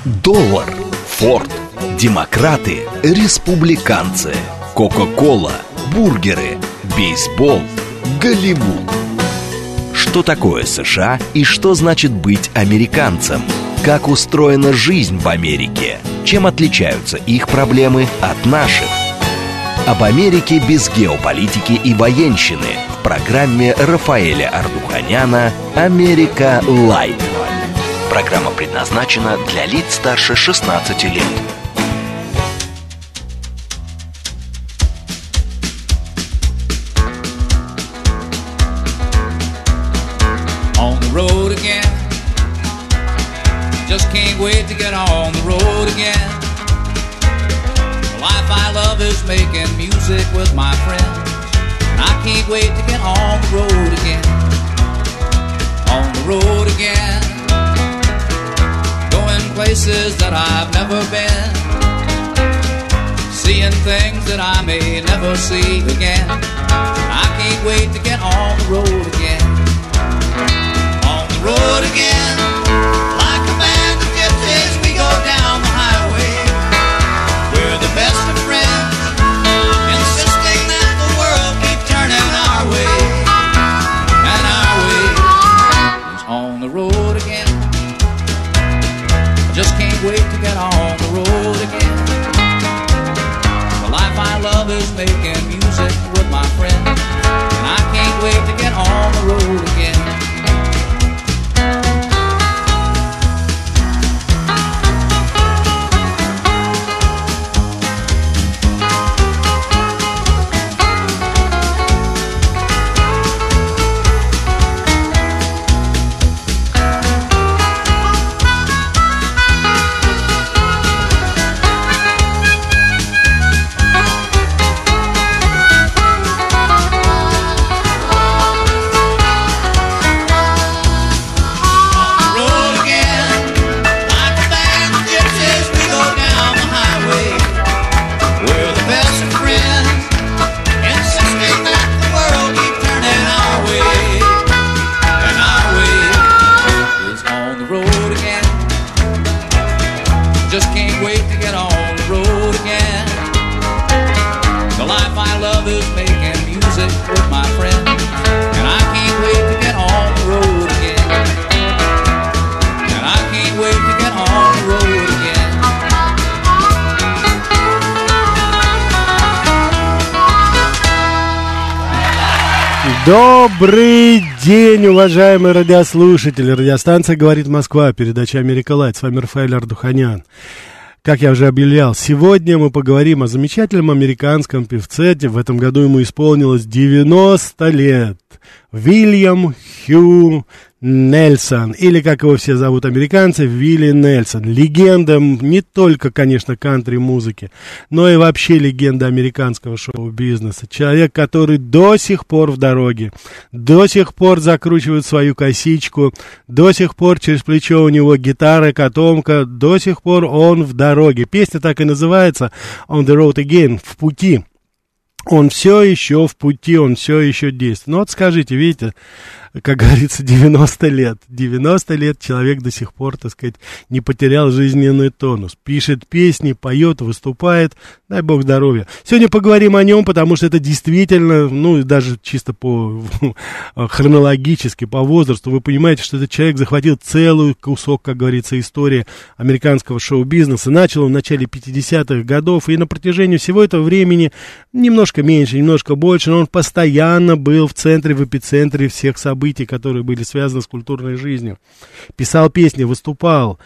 Доллар, Форд, демократы, республиканцы, Кока-кола, бургеры, бейсбол, Голливуд. Что такое США и что значит быть американцем? Как устроена жизнь в Америке? Чем отличаются их проблемы от наших? Об Америке без геополитики и военщины в программе Рафаэля Ардуханяна «Америка Лайт». Программа предназначена для лиц старше 16 лет. On the road again. Just can't wait to get on the road again. The life I love is making music with my friends, and I can't wait to get on the road again. On the road again. Going places that I've never been, seeing things that I may never see again. I can't wait to get on the road again. On the road again. Like a band of gypsies, we go down the highway. We're the best of friends, insisting that the world keep turning our way. And our way is on the road again. Just can't wait to get on the road again. The life I love is making music with my friends, and I can't wait to get on the road again. Добрый день, уважаемые радиослушатели. Радиостанция «Говорит Москва», передача «Америка Лайт». С вами Рафаэль Ардуханян. Как я уже объявлял, сегодня мы поговорим о замечательном американском певце. В этом году ему исполнилось 90 лет. Уильям Хью Нельсон, или, как его все зовут американцы, Вилли Нельсон. Легенда не только, конечно, кантри-музыки, но и вообще легенда американского шоу-бизнеса. Человек, который до сих пор в дороге, до сих пор закручивает свою косичку, до сих пор через плечо у него гитара, котомка, до сих пор он в дороге. Песня так и называется «On the Road Again», «В пути». Он все еще в пути, он все еще действует. Ну вот скажите, видите, как говорится, 90 лет. 90 лет человек до сих пор, так сказать, не потерял жизненный тонус. Пишет песни, поет, выступает. Дай бог здоровья. Сегодня поговорим о нем, потому что это действительно, ну, даже чисто по хронологически, по возрасту, вы понимаете, что этот человек захватил целый кусок, как говорится, истории американского шоу-бизнеса. Начал он в начале 50-х годов, и на протяжении всего этого времени, немножко меньше, немножко больше, но он постоянно был в центре, в эпицентре всех событий, которые были связаны с культурной жизнью. Писал песни, выступал,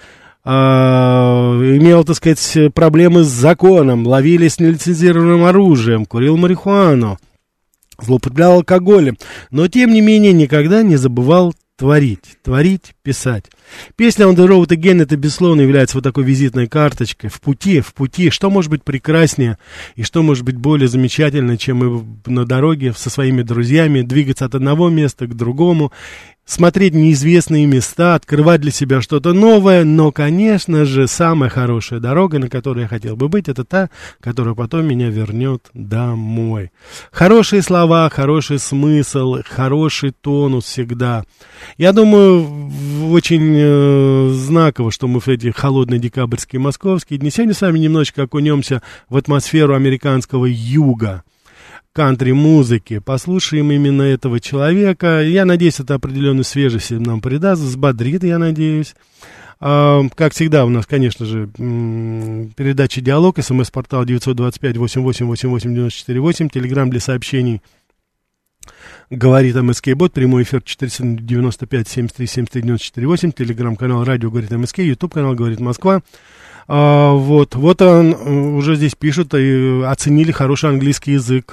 имел, так сказать, проблемы с законом, ловили с нелицензированным оружием, курил марихуану, злоупотреблял алкоголем, но, тем не менее, никогда не забывал творить, писать. Песня «On the Road Again» это, безусловно, является вот такой визитной карточкой. В пути. Что может быть прекраснее и что может быть более замечательно, чем мы на дороге со своими друзьями двигаться от одного места к другому, смотреть неизвестные места, открывать для себя что-то новое, но, конечно же, самая хорошая дорога, на которой я хотел бы быть, это та, которая потом меня вернет домой. Хорошие слова, хороший смысл, хороший тонус всегда. Я думаю, очень знаково, что мы в эти холодные декабрьские московские дни сегодня с вами немножечко окунемся в атмосферу американского юга. Кантри-музыки. Послушаем именно этого человека. Я надеюсь, это определенную свежесть нам придаст, взбодрит, я надеюсь. Как всегда, у нас, конечно же, передача «Диалог», СМС-портал 925-88-88-94-8, телеграм для сообщений «Говорит МСК-бот», прямой эфир 495-73-73-94-8, телеграм-канал «Радио Говорит МСК», ютуб-канал «Говорит Москва». Вот он уже здесь пишет, и оценили хороший английский язык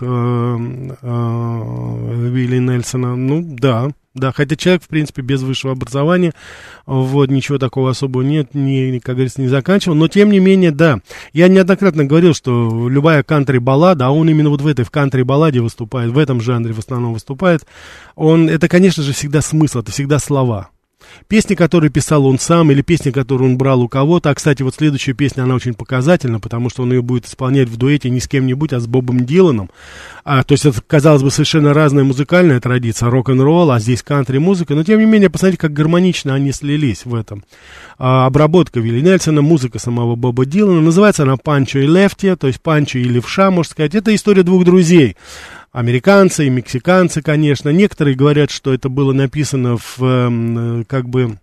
Вилли Нельсона. Ну, да, хотя человек, в принципе, без высшего образования, вот, ничего такого особого нет, как говорится, не заканчивал, но, тем не менее, да, я неоднократно говорил, что любая кантри-баллада, а он именно вот в этой, в кантри-балладе выступает, в этом жанре в основном выступает, это, конечно же, всегда смысл, это всегда слова. Песни, которые писал он сам, или песни, которые он брал у кого-то. А, кстати, вот следующая песня, она очень показательна, потому что он ее будет исполнять в дуэте не с кем-нибудь, а с Бобом Диланом. То есть это, казалось бы, совершенно разная музыкальная традиция, рок-н-ролл, а здесь кантри-музыка. Но, тем не менее, посмотрите, как гармонично они слились в этом. Обработка Вилли Нельсона, музыка самого Боба Дилана. Называется она «Панчо и Лефти», то есть «Панчо и левша», можно сказать. Это история двух друзей. Американцы и мексиканцы, конечно. Некоторые говорят, что это было написано как бы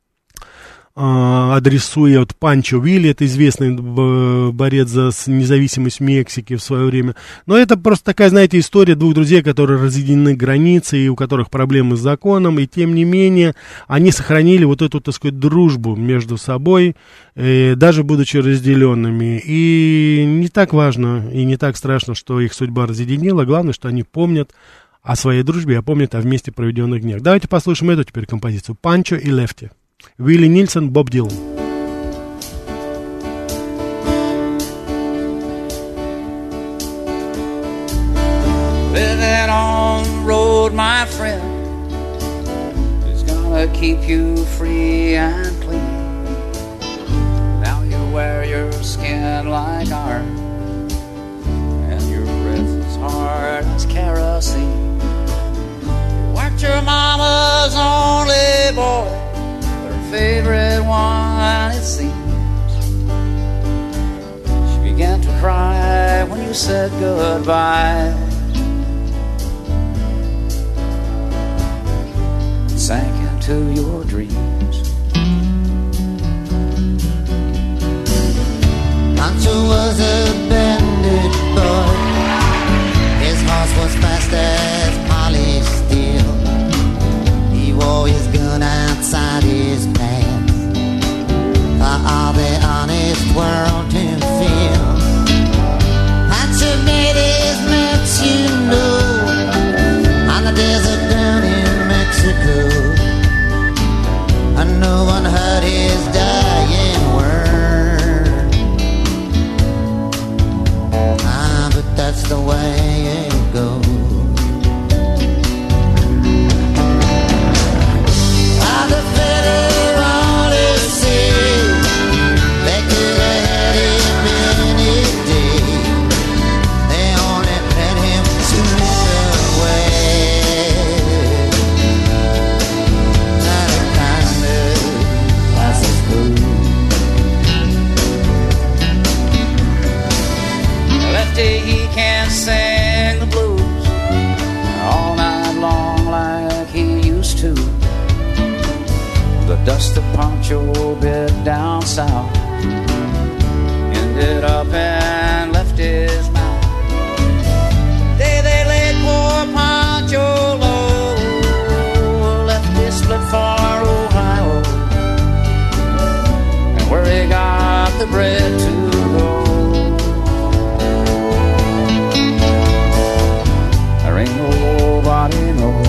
адресуя от Панчо Вилли, это известный борец за независимость Мексики в свое время. Но это просто такая, знаете, история двух друзей, которые разъединены границей, и у которых проблемы с законом, и тем не менее они сохранили вот эту, так сказать, дружбу между собой, даже будучи разделенными. И не так важно, и не так страшно, что их судьба разъединила, главное, что они помнят о своей дружбе, а помнят о вместе проведенных днях. Давайте послушаем эту теперь композицию «Панчо и Лефти». Вилли Нильсон, Боб Дилан. Living on the road, my friend, is gonna keep you free and clean. Now you wear your skin like iron, and your breath is hard as kerosene. You weren't your mama's only boy, favorite one, it seems. She began to cry when you said goodbye, and sank into your dreams. Pancho was a bandit boy. His horse was fast as polished steel. He wore his gun outside his pants for all the honest world to feel. Pancho made his marks, you know, on the desert down in Mexico, and no one heard his dying word. But that's the way it goes. He can't sing the blues all night long like he used to. The dust of Pancho bit down south ended up and left his mouth. The day they laid poor Pancho low, left his split for Ohio, and where he got the bread to go. Ain't nobody knows.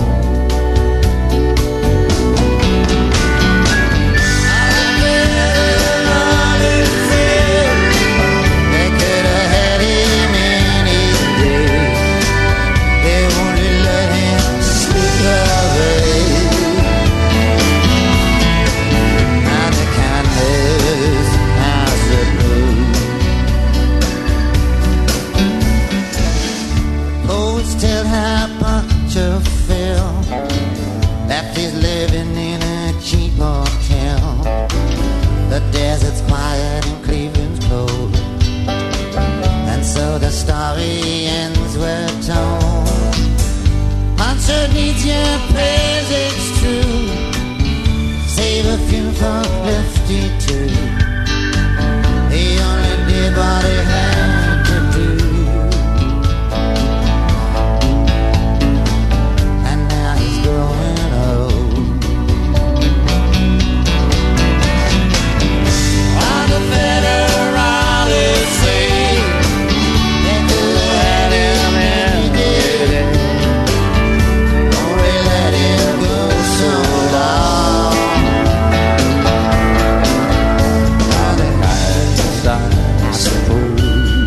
They could have had him any day. They only let him slip away. to. He only did what he had to do. And now he's growing old. While the federalists say they could have had him any day, only let him go so long. Now the highest, I suppose.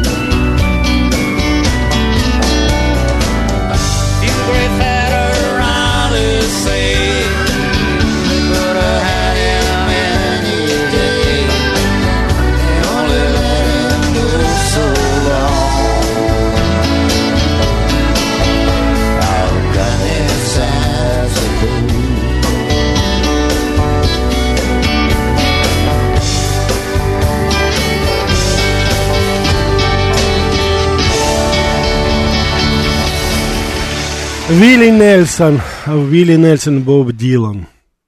These great federalists say they could have had him any day. They only let him go so long. I've got this as a fool. Вилли Нельсон, Боб Дилан,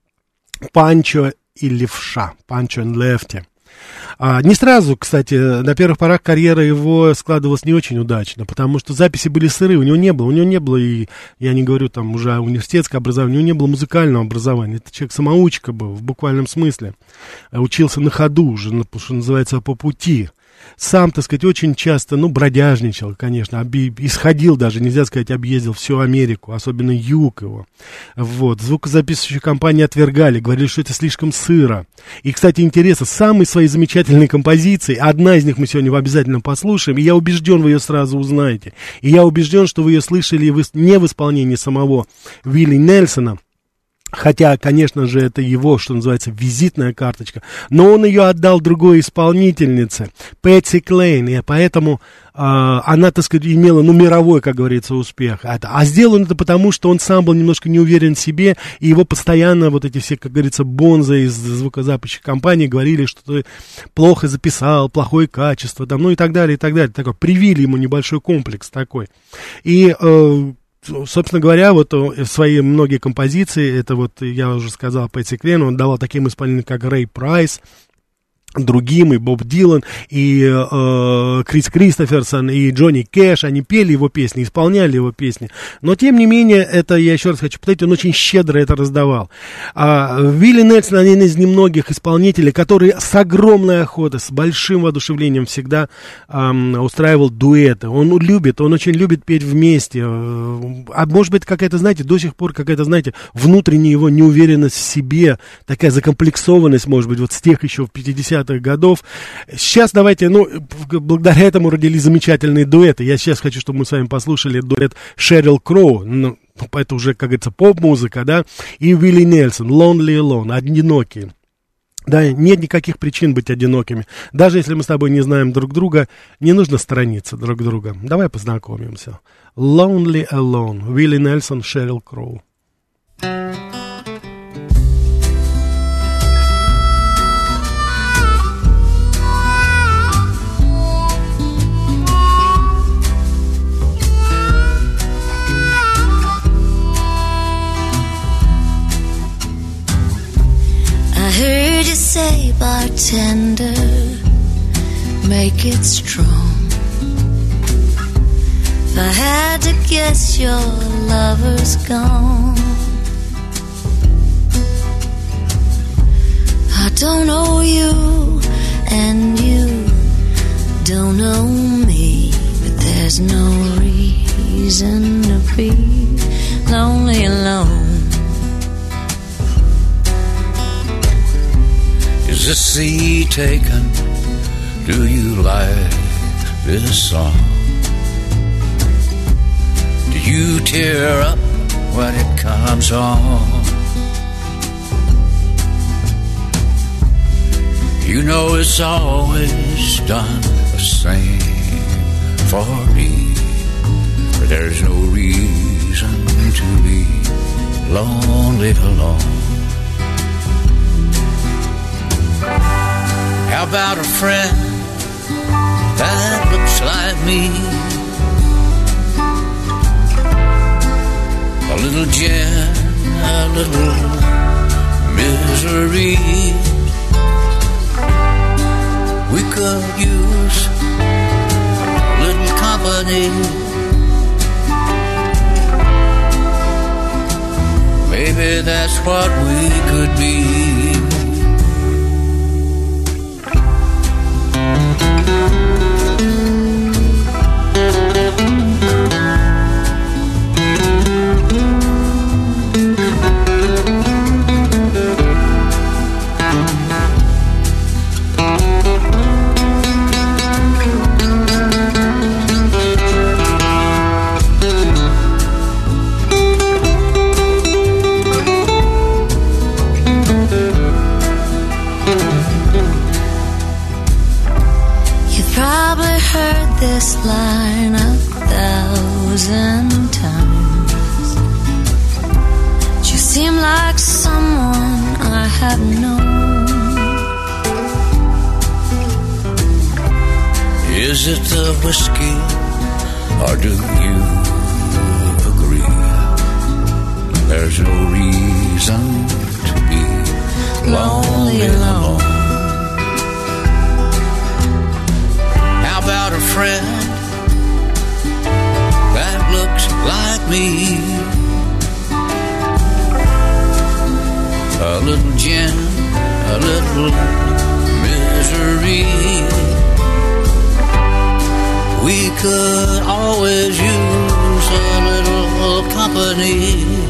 Панчо и Левша, Панчо и Лефти. Не сразу, кстати, на первых порах карьера его складывалась не очень удачно, потому что записи были сырые, у него не было, и я не говорю там уже о университетском образовании, у него не было музыкального образования, это человек-самоучка был, в буквальном смысле, учился на ходу уже, что называется, по пути. Сам, так сказать, очень часто, бродяжничал, конечно, исходил даже, нельзя сказать, объездил всю Америку, особенно юг его. Вот, звукозаписывающие компании отвергали, говорили, что это слишком сыро. И, кстати, интересно, самые свои замечательные композиции, одна из них мы сегодня обязательно послушаем, и я убежден, вы ее сразу узнаете. И я убежден, что вы ее слышали не в исполнении самого Вилли Нельсона, хотя, конечно же, это его, что называется, визитная карточка, но он ее отдал другой исполнительнице, Пэтси Клейн, и поэтому она, так сказать, имела, мировой, как говорится, успех. А сделано это потому, что он сам был немножко не уверен в себе, и его постоянно вот эти все, как говорится, бонзы из звукозаписывающих компаний говорили, что ты плохо записал, плохое качество, там, и так далее, и так далее. Такой, привили ему небольшой комплекс такой. И собственно говоря, вот свои многие композиции, это вот, я уже сказал, Пэтси Клейн, он давал таким исполнителям, как Рэй Прайс, другим, и Боб Дилан, и Крис Кристоферсон, и Джонни Кэш, они пели его песни, исполняли его песни, но тем не менее, это, я еще раз хочу повторить, он очень щедро это раздавал. Вилли Нельсон один из немногих исполнителей, который с огромной охотой, с большим воодушевлением всегда устраивал дуэты. Он очень любит петь вместе, а может быть, какая-то, знаете, до сих пор какая-то, знаете, внутренняя его неуверенность в себе, такая закомплексованность, может быть, вот с тех еще в 50-х годов. Сейчас давайте, благодаря этому родились замечательные дуэты. Я сейчас хочу, чтобы мы с вами послушали дуэт Шерил Кроу, это уже, как говорится, поп-музыка, да, и Вилли Нельсон, Lonely Alone, одинокие. Да, нет никаких причин быть одинокими. Даже если мы с тобой не знаем друг друга, не нужно сторониться друг друга. Давай познакомимся. Lonely Alone, Вилли Нельсон, Шерил Кроу. I heard you say, bartender, make it strong. If I had to guess, your lover's gone. I don't know you, and you don't know me, but there's no reason to be lonely alone. Is the sea taken? Do you like this song? Do you tear up when it comes on? You know it's always done the same for me, but there's no reason to be lonely alone. How about a friend that looks like me? A little gin, a little misery. could use a little company. Maybe that's what we could be. This line 1,000 times. You seem like someone I have known. Is it the whiskey, or do you agree? There's no reason to be lonely alone. How about a friend that looks like me? A little gin, a little misery. We could always use a little company.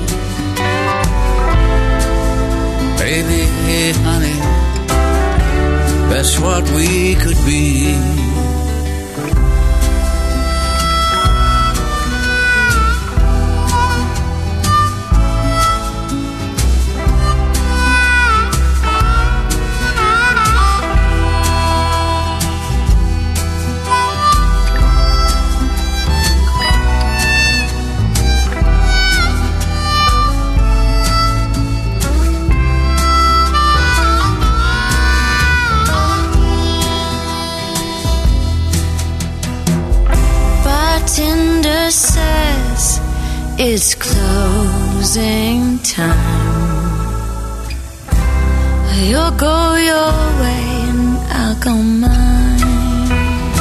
Baby, honey, that's what we could be. Says it's closing time. You'll go your way and I'll go mine.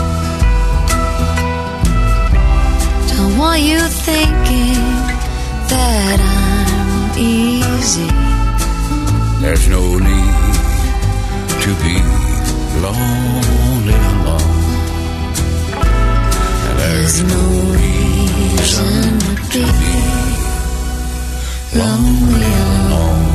Don't want you thinking that I'm easy. There's no need to be lonely alone. There's no reason to be lonely alone.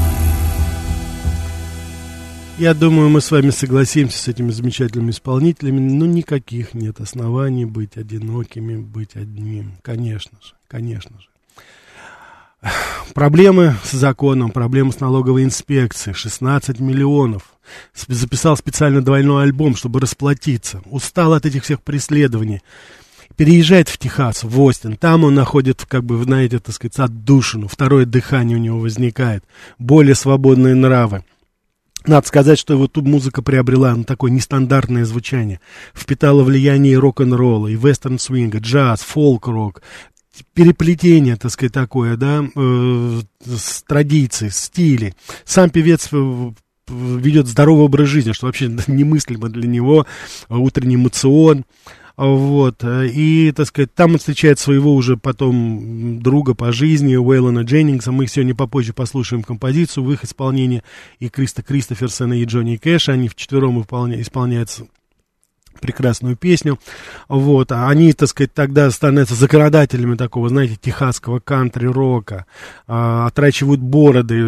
Я думаю, мы с вами согласимся с этими замечательными исполнителями, но никаких нет оснований быть одинокими, быть одним. Конечно же, конечно же. Проблемы с законом, проблемы с налоговой инспекцией, 16 миллионов. Записал специально двойной альбом, чтобы расплатиться. Устал от этих всех преследований. Переезжает в Техас, в Остин. Там он находит, как бы, знаете, так сказать, отдушину. Второе дыхание у него возникает. Более свободные нравы. Надо сказать, что его тут музыка приобрела такое нестандартное звучание. Впитала влияние и рок-н-ролла, и вестерн-свинга, джаз, фолк-рок. Переплетение, так сказать, такое, да, с традицией, стилей. Сам певец ведет здоровый образ жизни, что вообще немыслимо для него, утренний моцион. Вот, и, так сказать, там он встречает своего уже потом друга по жизни, Уэйлона Дженнингса. Мы их сегодня попозже послушаем композицию в их исполнении, и Криста Кристоферсона, и Джонни Кэша. Они вчетвером исполняют прекрасную песню. Вот, а они, так сказать, тогда становятся законодателями такого, знаете, техасского кантри-рока, отращивают бороды,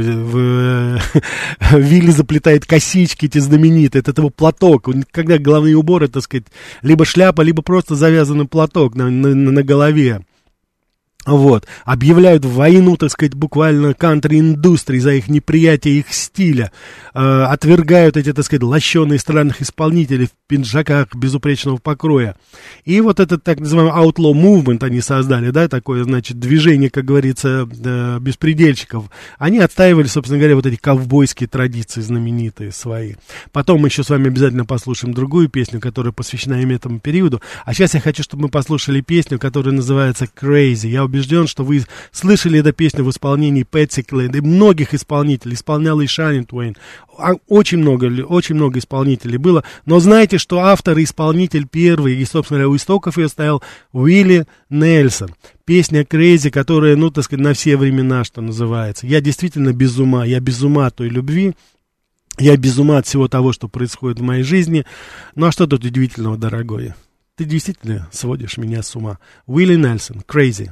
Вилли заплетает косички эти знаменитые, это его платок, когда головные уборы, так сказать, либо шляпа, либо просто завязанный платок на голове. Вот, объявляют войну, так сказать, буквально кантри-индустрии за их неприятие их стиля, отвергают эти, так сказать, лощеные странных исполнителей в пиджаках безупречного покроя. И вот этот так называемый outlaw movement они создали, да, такое, значит, движение, как говорится, беспредельщиков. Они отстаивали, собственно говоря, вот эти ковбойские традиции знаменитые свои. Потом мы еще с вами обязательно послушаем другую песню, которая посвящена именно этому периоду. А сейчас я хочу, чтобы мы послушали песню, которая называется Crazy. Я убежден, убежден, что вы слышали эту песню в исполнении Пэтси Клэйд и многих исполнителей. Исполнял и Шания Твейн. Очень много исполнителей было. Но знаете, что автор и исполнитель первый, и, собственно говоря, у истоков ее стоял Уилли Нельсон. Песня «Crazy», которая, ну, так сказать, на все времена, что называется. Я действительно без ума. Я без ума от той любви. Я без ума от всего того, что происходит в моей жизни. Ну, а что тут удивительного, дорогой? Ты действительно сводишь меня с ума. Уилли Нельсон, «Crazy».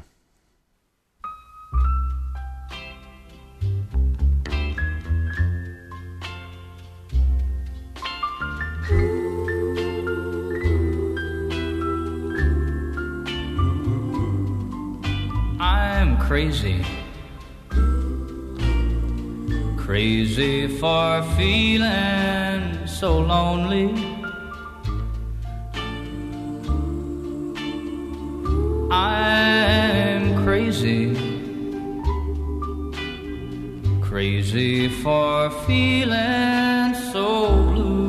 I'm crazy, crazy for feeling so lonely. I'm crazy, crazy for feeling so blue.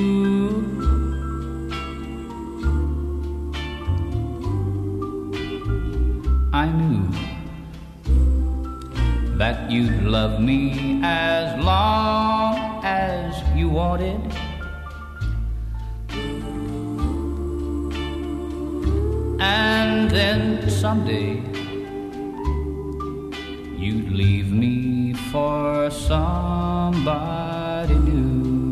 I knew that you'd love me as long as you wanted. And then someday you'd leave me for somebody new.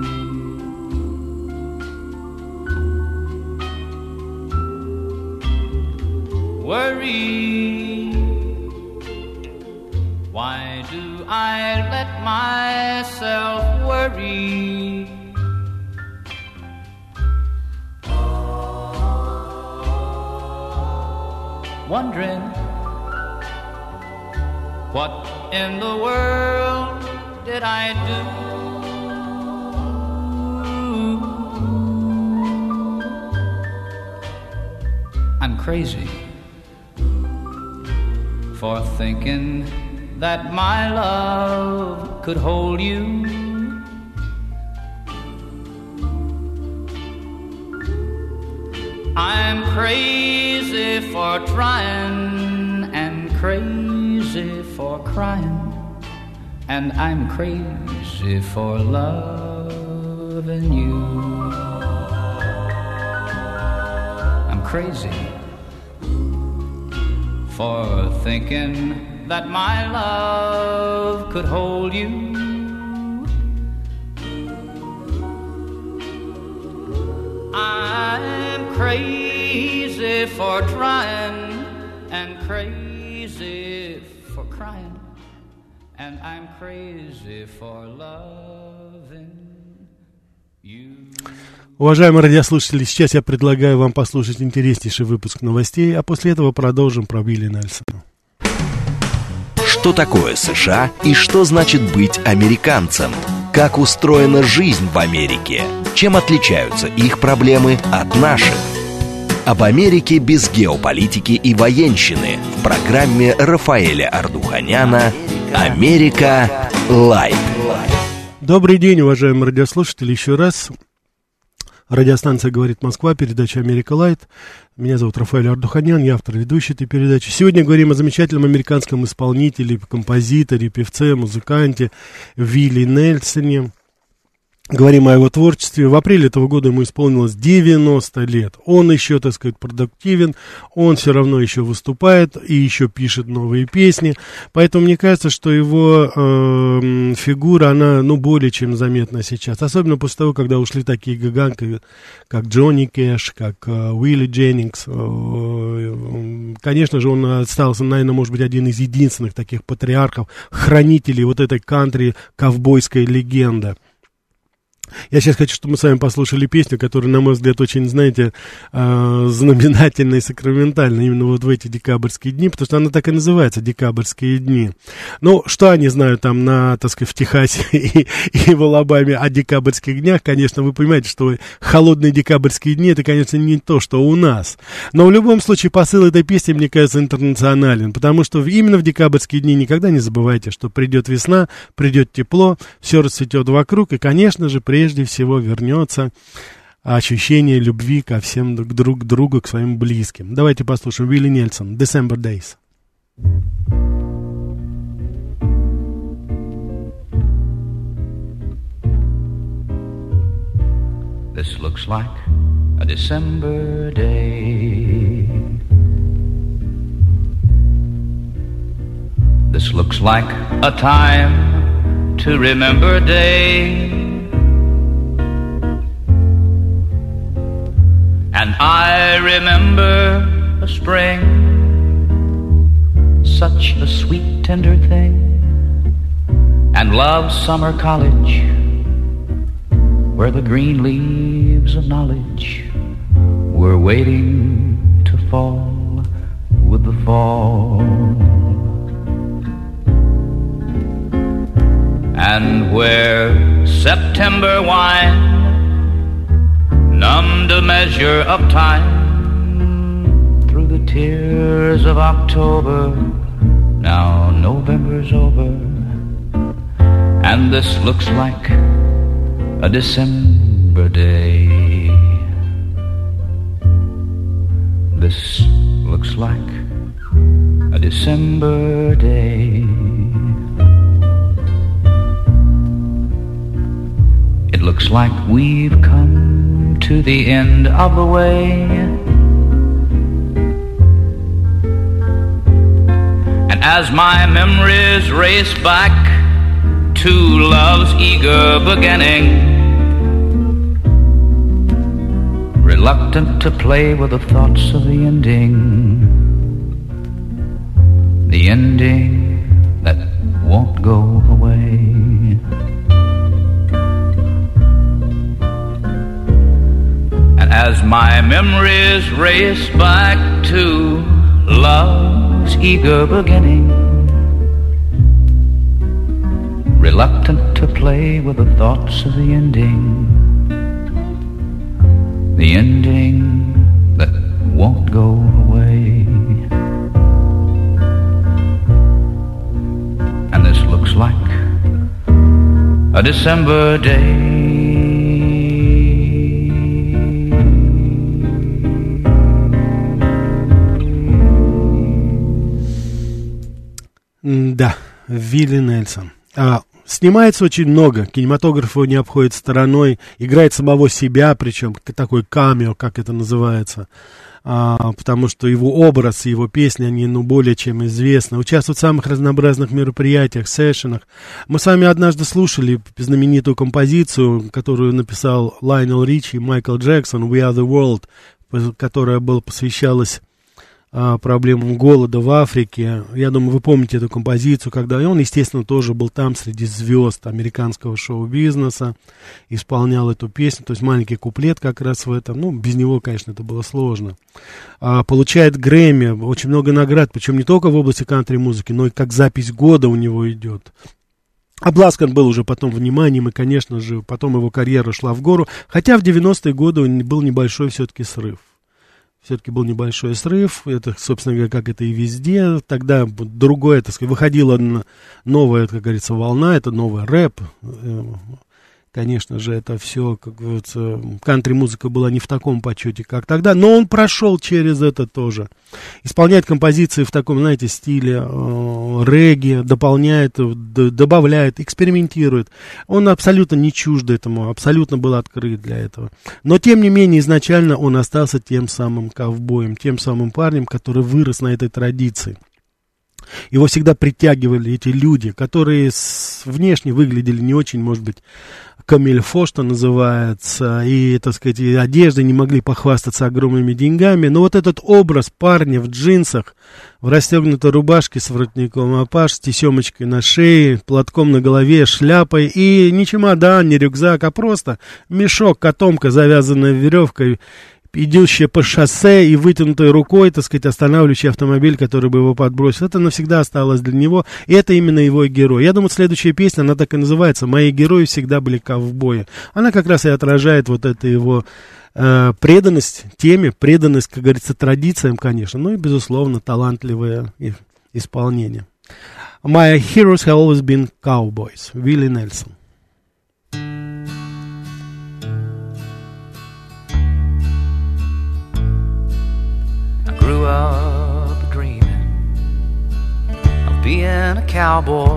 Worry, why do I let myself worry? Wondering what in the world did I do? I'm crazy for thinking that my love could hold you. I'm crazy for trying and crazy for crying, and I'm crazy for loving you. I'm crazy for thinking that my love could hold you. I'm crazy for trying and crazy for crying, and I'm crazy for loving you. Уважаемые радиослушатели, сейчас я предлагаю вам послушать интереснейший выпуск новостей, а после этого продолжим про Уилли Нельсона. Что такое США и что значит быть американцем? Как устроена жизнь в Америке? Чем отличаются их проблемы от наших? Об Америке без геополитики и военщины в программе Рафаэля Ардуханяна «Америка Лайв». Добрый день, уважаемые радиослушатели, еще раз. Радиостанция «Говорит Москва», передача «Америка Лайт». Меня зовут Рафаэль Ардуханян, я автор ведущей этой передачи. Сегодня говорим о замечательном американском исполнителе, композиторе, певце, музыканте Уилли Нельсоне. Говорим о его творчестве. В апреле этого года ему исполнилось 90 лет. Он еще, так сказать, продуктивен, он все равно еще выступает и еще пишет новые песни. Поэтому мне кажется, что его фигура, она, более чем заметна сейчас. Особенно после того, когда ушли такие гиганты, как Джонни Кэш, как Уилли Дженнингс. Конечно же, он остался, наверное, может быть, один из единственных таких патриархов, хранителей вот этой кантри-ковбойской легенды. Я сейчас хочу, чтобы мы с вами послушали песню, которая, на мой взгляд, очень, знаете, знаменательна и сакраментальна именно вот в эти декабрьские дни, потому что она так и называется «Декабрьские дни». Ну, что они знают там так сказать, в Техасе и в Алабаме о декабрьских днях, конечно, вы понимаете, что холодные декабрьские дни, это, конечно, не то, что у нас. Но в любом случае посыл этой песни, мне кажется, интернационален, потому что именно в декабрьские дни никогда не забывайте, что придет весна, придет тепло, все расцветет вокруг, и, конечно же, прежде всего вернется ощущение любви ко всем друг к другу, к своим близким. Давайте послушаем Уилли Нельсон, December Days. This looks like a December day. This looks like a time to remember day. And I remember a spring, such a sweet, tender thing, and love's summer college, where the green leaves of knowledge were waiting to fall with the fall. And where September wine numbed a measure of time through the tears of October, now November's over, and this looks like a December day. This looks like a December day. It looks like we've come to the end of the way, and as my memories race back to love's eager beginning, reluctant to play with the thoughts of the ending that won't go away. And as my memories race back to love's eager beginning, reluctant to play with the thoughts of the ending that won't go away. And this looks like a December day. Да, Вилли Нельсон. Снимается очень много, кинематограф его не обходит стороной, играет самого себя, причем такой камео, как это называется, потому что его образ и его песни, они более чем известны. Участвует в самых разнообразных мероприятиях, сессионах. Мы с вами однажды слушали знаменитую композицию, которую написал Лайонел Ричи и Майкл Джексон, «We are the world», которая посвящалась проблемам голода в Африке. Я думаю, вы помните эту композицию, когда он, естественно, тоже был там среди звезд американского шоу-бизнеса, исполнял эту песню, то есть маленький куплет как раз в этом, без него, конечно, это было сложно. Получает Грэмми, очень много наград, причем не только в области кантри-музыки, но и как запись года у него идет. Обласкан был уже потом вниманием, и, конечно же, потом его карьера шла в гору, хотя в 90-е годы был небольшой все-таки срыв. Все-таки был небольшой срыв, это, собственно говоря, как это и везде. Тогда другое, так сказать, выходила новая, как говорится, волна, это новый рэп. Конечно же, это все, как говорится, кантри-музыка была не в таком почете, как тогда, но он прошел через это тоже. Исполняет композиции в таком, знаете, стиле регги, дополняет, добавляет, экспериментирует. Он абсолютно не чужд этому, абсолютно был открыт для этого. Но, тем не менее, изначально он остался тем самым ковбоем, тем самым парнем, который вырос на этой традиции. Его всегда притягивали эти люди, которые внешне выглядели не очень, может быть, камильфо, что называется, и, так сказать, и одеждой не могли похвастаться огромными деньгами. Но вот этот образ парня в джинсах, в расстегнутой рубашке с воротником апаш, с тесемочкой на шее, платком на голове, шляпой, и не чемодан, не рюкзак, а просто мешок, котомка, завязанная веревкой, идущая по шоссе и вытянутой рукой, так сказать, останавливающий автомобиль, который бы его подбросил. Это навсегда осталось для него, и это именно его герой. Я думаю, следующая песня, она так и называется «Мои герои всегда были ковбои». Она как раз и отражает вот это его преданность теме, преданность, как говорится, традициям, конечно, ну и, безусловно, талантливое исполнение. «My heroes have always been cowboys», Вилли Нельсон. Grew up dreaming a cowboy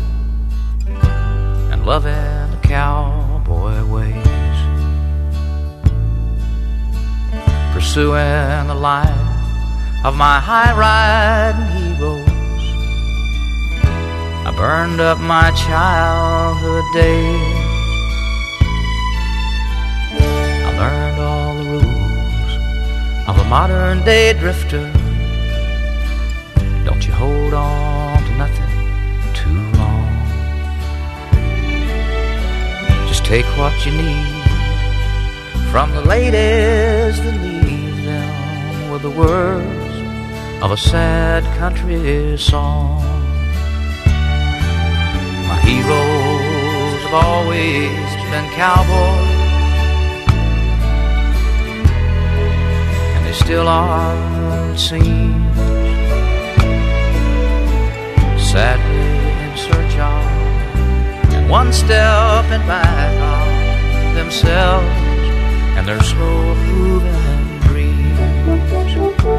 and loving the cowboy ways, pursuing the life of my high-riding heroes. I burned up my childhood days. I learned all the rules of a modern-day drifter. Don't you hold on to nothing too long. Just take what you need from the ladies that leave them with the words of a sad country song. My heroes have always been cowboys, and they still are, it seems. Sadly in search of, and one step and back of themselves and their slow moving dreams.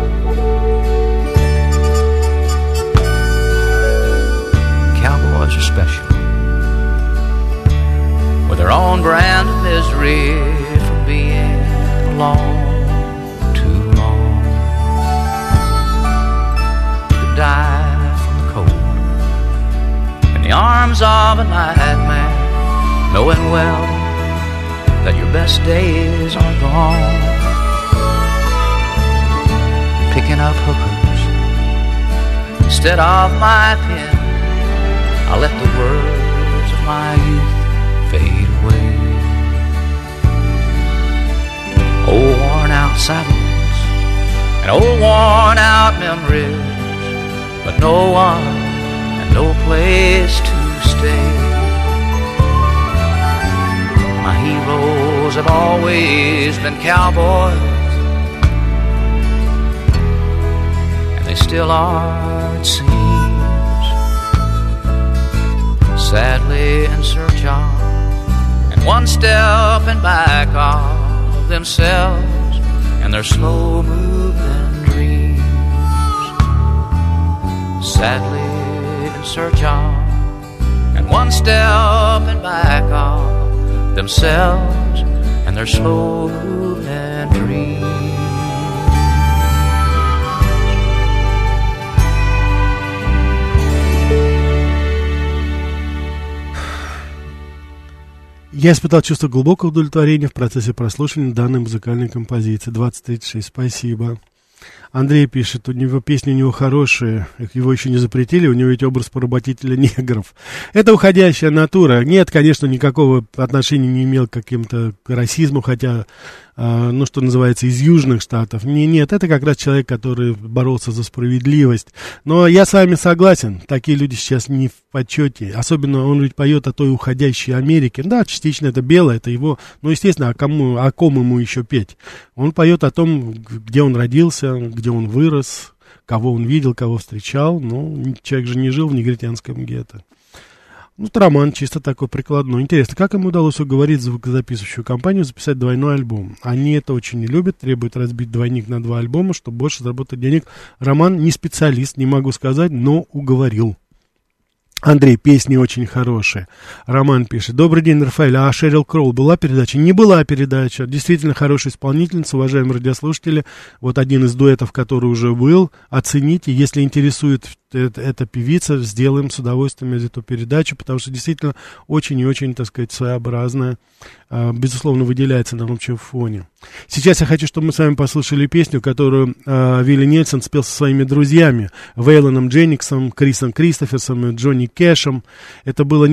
Cowboys are special, with their own brand of misery from being alone too long. Could die in the arms of a nightmare, knowing well that your best days are gone. Picking up hookers instead of my pen, I let the words of my youth fade away. Old worn out saddles and old worn out memories, but no one, no place to stay. My heroes have always been cowboys, and they still are, it seems. Sadly in search of, and one step and back of themselves and their slow moving dreams. Sadly in search of, and one step and back of themselves and their slow moving dreams. Я испытал чувство глубокого удовлетворения в процессе прослушивания данной музыкальной композиции. 2036, спасибо. Андрей пишет, у него песни у него хорошие, его еще не запретили, у него ведь образ поработителя негров. Это уходящая натура. Нет, конечно, никакого отношения не имел к каким-то расизму, хотя, ну, что называется, из южных штатов. Нет, это как раз человек, который боролся за справедливость. Но я с вами согласен, такие люди сейчас не в почете. Особенно он ведь поет о той уходящей Америке. Да, частично это белое, это его, ну, естественно, о ком ему еще петь? Он поет о том, где он родился, где он вырос, кого он видел, кого встречал. Ну, человек же не жил в негритянском гетто. Ну, это роман чисто такой прикладной. Интересно, как ему удалось уговорить звукозаписывающую компанию записать двойной альбом? Они это очень не любят, требуют разбить двойник на 2 альбома, чтобы больше заработать денег. Роман не специалист, не могу сказать, но уговорил. Андрей, песни очень хорошие. Роман пишет. Добрый день, Рафаэль. А Шерил Кроу была передача? Не была передача. Действительно хорошая исполнительница, уважаемые радиослушатели. Вот один из дуэтов, который уже был. Оцените. Если интересует эта певица, сделаем с удовольствием эту передачу, потому что действительно очень и очень, так сказать, своеобразная. Безусловно, выделяется на общем фоне. Сейчас я хочу, чтобы мы с вами послушали песню, которую Вилли Нельсон спел со своими друзьями. Вейлоном Дженниксом, Крисом Кристоферсом и Джонни Кэшем. Это было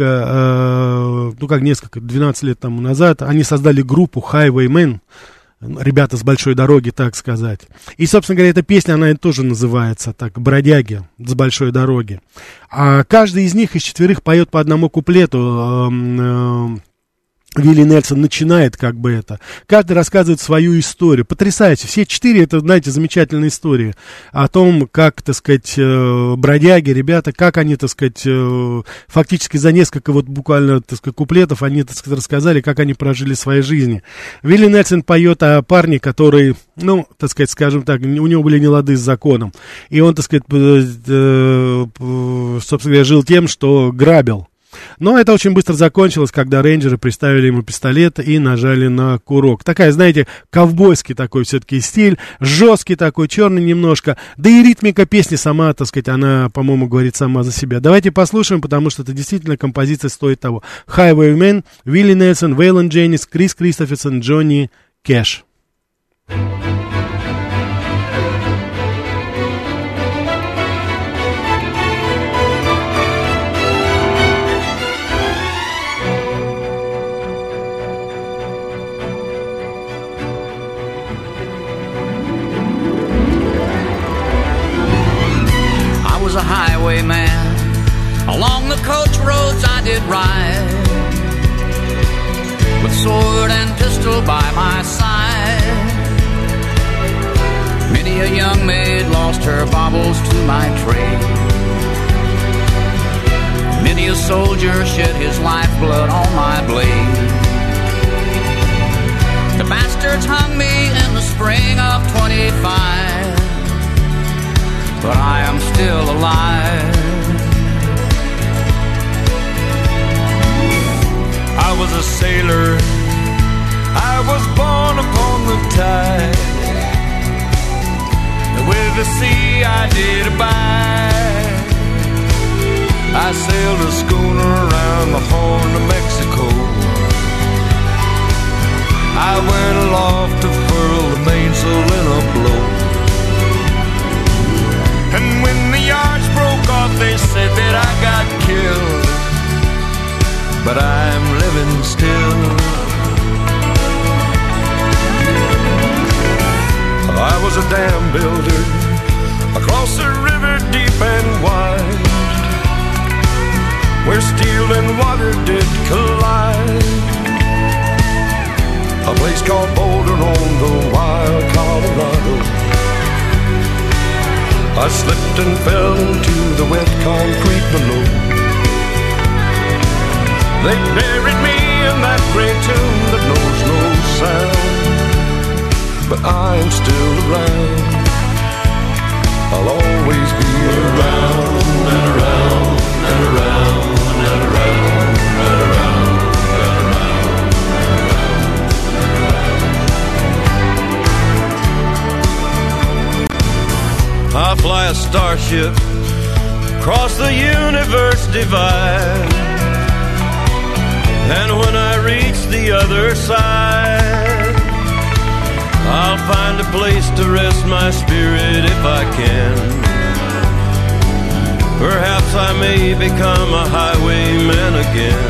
12 лет тому назад. Они создали группу Highwaymen. Ребята с большой дороги, так сказать. И, собственно говоря, эта песня, она тоже называется так, «Бродяги с большой дороги». А каждый из них, из 4, поет по одному куплету. Вилли Нельсон начинает как бы это. Каждый рассказывает свою историю. Потрясающе. Все 4, это, знаете, замечательные истории о том, как, так сказать, бродяги, ребята, как они, так сказать, фактически за несколько вот буквально, так сказать, куплетов они, так сказать, рассказали, как они прожили свои жизни. Вилли Нельсон поет о парне, который, ну, так сказать, скажем так, у него были нелады с законом. И он, так сказать, собственно говоря, жил тем, что грабил. Но это очень быстро закончилось, когда рейнджеры приставили ему пистолет и нажали на курок. Такая, знаете, ковбойский такой все-таки стиль, жесткий такой, черный немножко. Да и ритмика песни сама, так сказать, она, по-моему, говорит сама за себя. Давайте послушаем, потому что это действительно композиция стоит того. Highwayman, Вилли Нельсон, Вейлон Дженнис, Крис Кристоферсон, Джонни Кэш. A highwayman. Along the coach roads I did ride, with sword and pistol by my side. Many a young maid lost her baubles to my trade. Many a soldier shed his lifeblood on my blade. The bastards hung me in the spring of 25, but I am still alive. I was a sailor, I was born upon the tide, and with the sea I did abide. I sailed a schooner around the Horn of Mexico. I went aloft to furl the mainsail in a blow. And when the yards broke off, they said that I got killed, but I'm living still. I was a dam builder across a river deep and wide, where steel and water did collide. A place called Boulder on the wild Colorado. I slipped and fell into the wet concrete below. They buried me in that great tomb that knows no sound, but I'm still around. I'll always be around and around and around and around and around and around and around. I fly a starship across the universe divide, and when I reach the other side, I'll find a place to rest my spirit if I can. Perhaps I may become a highwayman again,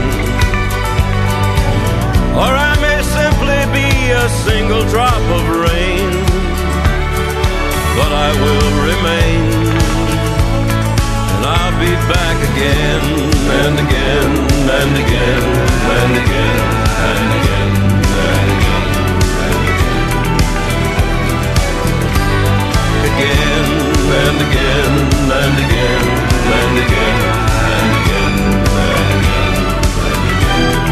or I may simply be a single drop of rain, but I will remain, and I'll be back again and again and again and again and again and again and again, again and again and again and again and again and again and again.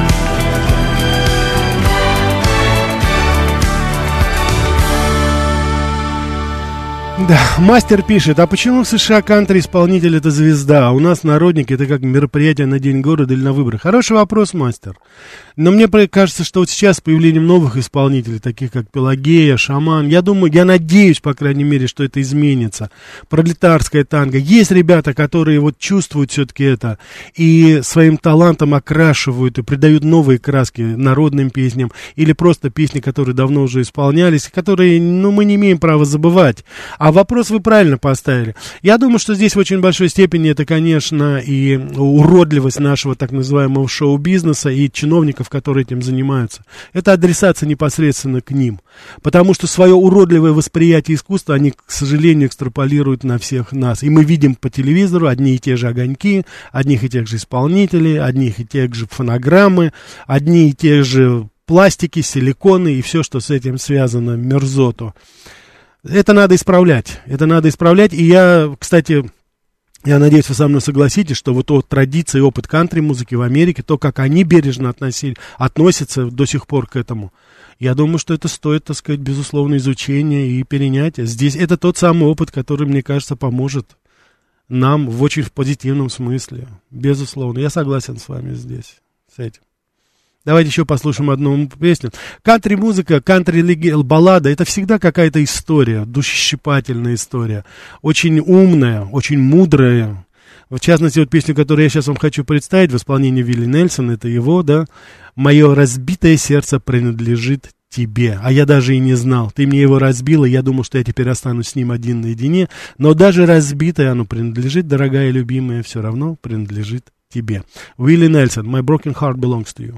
Да, мастер пишет, а почему в США кантри-исполнитель это звезда, а у нас народник это как мероприятие на День города или на выборы? Хороший вопрос, мастер. Но мне кажется, что вот сейчас с появлением новых исполнителей, таких как Пелагея, Шаман, я думаю, я надеюсь, по крайней мере, что это изменится. Пролетарская танго. Есть ребята, которые вот чувствуют все-таки это и своим талантом окрашивают и придают новые краски народным песням или просто песни, которые давно уже исполнялись, которые, ну, мы не имеем права забывать. А вопрос вы правильно поставили. Я думаю, что здесь в очень большой степени это, конечно, и уродливость нашего так называемого шоу-бизнеса и чиновников, которые этим занимаются. Это адресация непосредственно к ним. Потому что свое уродливое восприятие искусства они, к сожалению, экстраполируют на всех нас. И мы видим по телевизору одни и те же огоньки, одних и тех же исполнителей, одних и тех же фонограммы, одни и те же пластики, силиконы и все, что с этим связано, мерзоту. Это надо исправлять. И я, кстати, я надеюсь, вы со мной согласитесь, что вот традиция и опыт кантри-музыки в Америке, то, как они бережно относятся до сих пор к этому, я думаю, что это стоит, так сказать, безусловно, изучения и перенятия. Здесь это тот самый опыт, который, мне кажется, поможет нам в очень позитивном смысле. Безусловно. Я согласен с вами здесь, с этим. Давайте еще послушаем одну песню. Кантри-музыка, кантри-баллада — это всегда какая-то история, душещипательная история. Очень умная, очень мудрая. В частности, вот песню, которую я сейчас вам хочу представить, в исполнении Вилли Нельсона, это его, да. «Мое разбитое сердце принадлежит тебе». А я даже и не знал. Ты мне его разбила, я думал, что я теперь останусь с ним один наедине. Но даже разбитое оно принадлежит, дорогая любимая, все равно принадлежит тебе. Вилли Нельсон, «My broken heart belongs to you».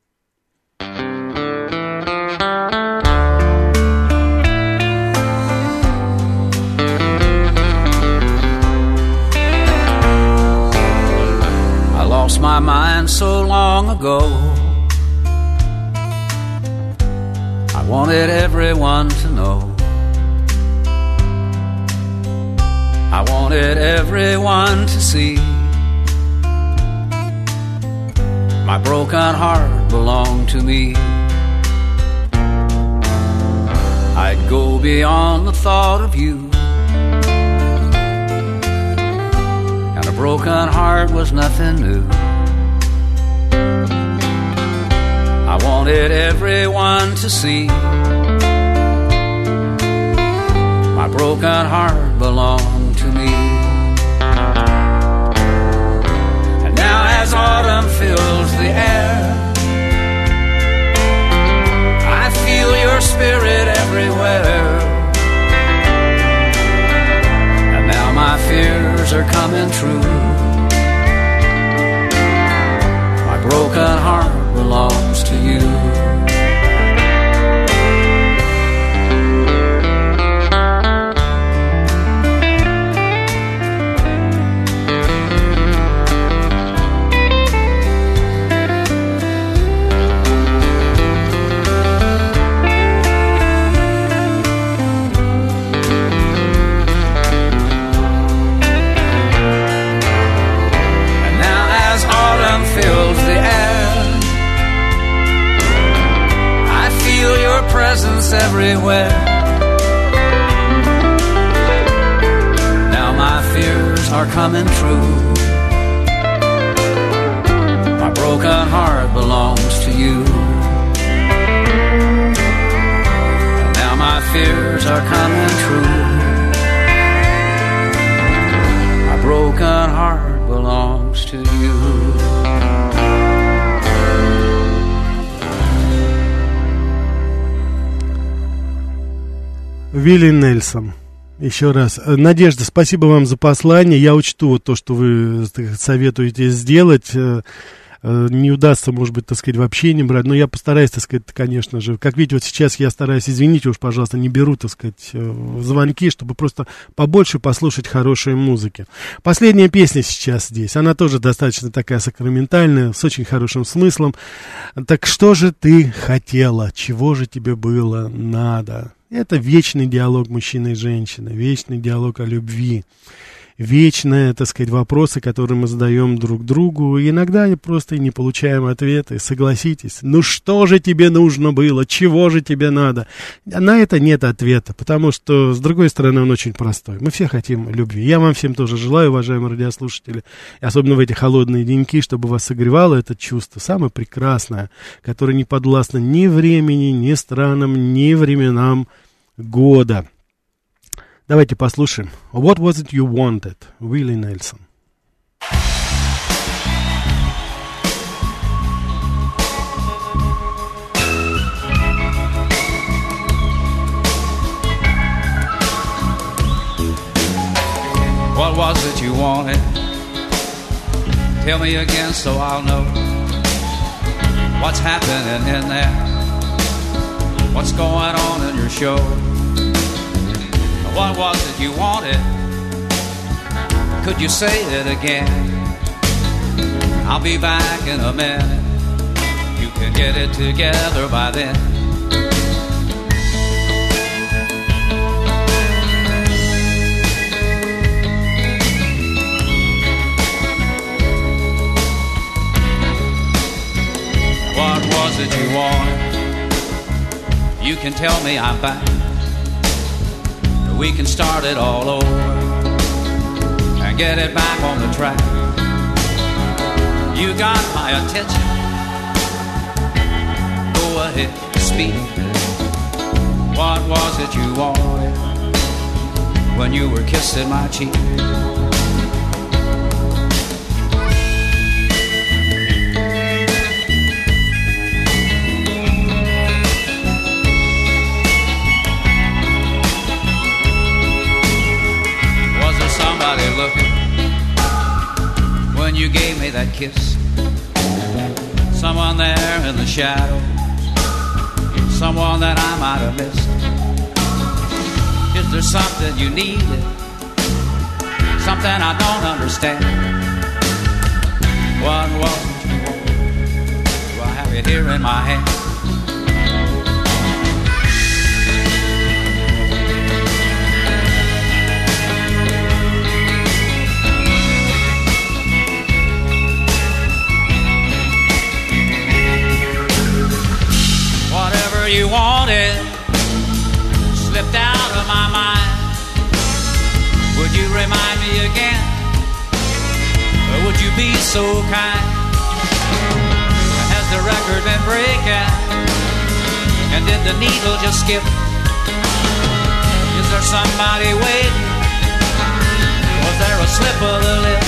Lost my mind so long ago. I wanted everyone to know. I wanted everyone to see. My broken heart belonged to me. I'd go beyond the thought of you. And a broken heart was nothing new. I wanted everyone to see. My broken heart belonged to me. And now as autumn fills the air, I feel your spirit everywhere. And now my fears are coming true. My broken heart belongs to you. Fills the air, I feel your presence everywhere. Now my fears are coming true. My broken heart belongs to you. And now my fears are coming true. My broken heart belongs to you. Вилли Нельсон. Еще раз. Надежда, спасибо вам за послание. Я учту вот то, что вы советуете сделать. Не удастся, может быть, так сказать, вообще не брать. Но я постараюсь, так сказать, конечно же. Как видите, вот сейчас я стараюсь, извините уж, пожалуйста, не беру, так сказать, звонки, чтобы просто побольше послушать хорошей музыки. Последняя песня сейчас здесь. Она тоже достаточно такая сакраментальная, с очень хорошим смыслом. Так что же ты хотела? Чего же тебе было надо? Это вечный диалог мужчины и женщины, вечный диалог о любви, вечные, так сказать, вопросы, которые мы задаем друг другу. И иногда просто не получаем ответы. Согласитесь, ну что же тебе нужно было, чего же тебе надо? На это нет ответа, потому что, с другой стороны, он очень простой. Мы все хотим любви. Я вам всем тоже желаю, уважаемые радиослушатели, особенно в эти холодные деньки, чтобы вас согревало это чувство, самое прекрасное, которое не подвластно ни времени, ни странам, ни временам года. Давайте послушаем. What was it you wanted? Willie Nelson. What was it you wanted? Tell me again so I'll know what's happening in there. What's going on in your show? What was it you wanted? Could you say it again? I'll be back in a minute. You can get it together by then. What was it you wanted? You can tell me I'm back. We can start it all over and get it back on the track. You got my attention. Go ahead, speak. What was it you wanted when you were kissing my cheek? Looking when you gave me that kiss. Someone there in the shadows, someone that I might have missed. Is there something you needed, something I don't understand? What was it you wanted? Do I have it here in my hand? You wanted slipped out of my mind. Would you remind me again? Or would you be so kind? Has the record been breaking? And did the needle just skip? Is there somebody waiting? Was there a slip of the lip?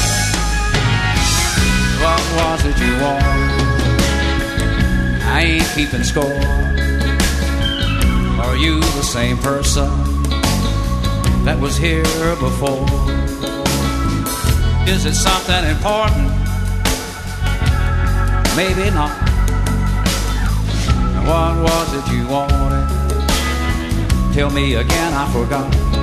What was it you wanted? I ain't keeping score. Are you the same person that was here before? Is it something important? Maybe not. What was it you wanted? Tell me again, I forgot.